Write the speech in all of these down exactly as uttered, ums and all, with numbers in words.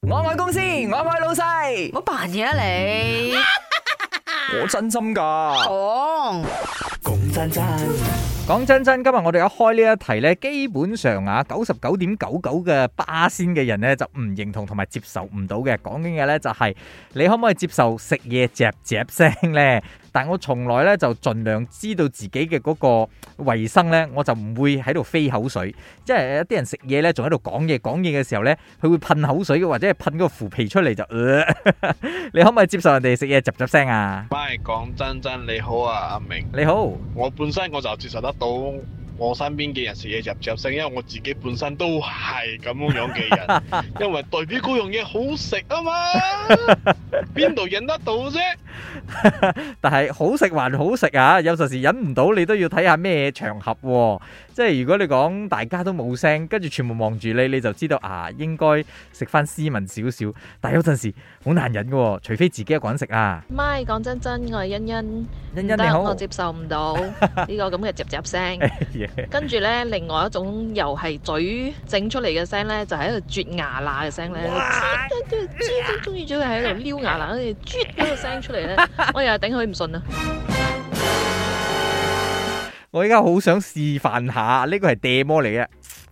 我愛公司，我愛老細。 冇扮嘢啊你！ 我真心噶。 講講真真。 講真真，今日我哋一開呢一題呢，基本上啊，九十九點九九嘅巴仙嘅人呢，就唔認同同埋接受唔到嘅。講緊嘅呢，就係你可唔可以接受食嘢嚼嚼聲呢？但我從來呢，就盡量知道自己嘅嗰個衛生呢，我就唔會喺度飛口水。即係有啲人食嘢呢，仲喺度講嘢講嘢嘅時候呢，佢會噴口水嘅，或者係噴嗰個腐皮出嚟就、呃。你可唔可以接受人哋食嘢嚼嚼聲啊？ 咪講真真，你好啊，阿明。 你好。 我本身我就接受得到我身邊嘅人食嘢嚼嚼聲，因為我自己本身都係咁樣嘅人，因為代表嗰樣嘢好食啊嘛，邊度忍得到啫？ 但係好食還好食啊，有陣時忍唔到，你都要睇下咩場合喎。即係如果你講大家都冇聲，跟住全部望住你，你就知道啊，應該食翻斯文少少。但係有陣時好難忍嘅，除非自己一個人食啊。 咪講真真，我係欣欣， 欣欣你好， 我接受唔到呢個咁嘅嚼嚼聲。跟住咧，另外一種又係嘴整出嚟嘅聲咧，就係喺度啜牙罅嘅聲咧，最中意咗佢喺度撩牙罅，跟住啜嗰個聲出嚟咧，我又係頂佢唔順啊！ 我而家好想示範下，呢個係嗲魔嚟嘅。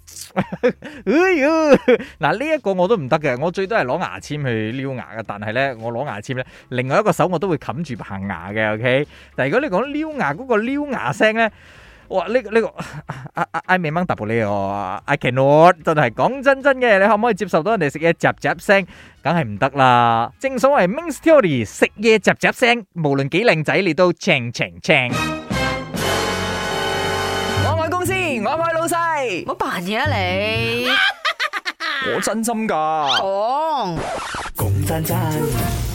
嗱，呢一個我都唔得嘅，我最多係攞牙籤去撩牙嘅，但係咧我攞牙籤咧，另外一個手我都會冚住棚牙嘅。OK， 但係如果你講撩牙嗰個撩牙聲咧，哇！呢、這個呢、這個啊啊 I 未掹 double 你哦 I cannot， 真係講真真嘅，你可唔可以接受到人哋食嘢雜雜聲？梗係唔得啦！正所謂 Ming Theory， 食嘢雜雜聲，無論幾靚仔，你都青青青。 我愛公司，我愛老細。 冇扮嘢啊你！ 我真心噶。 講講真真。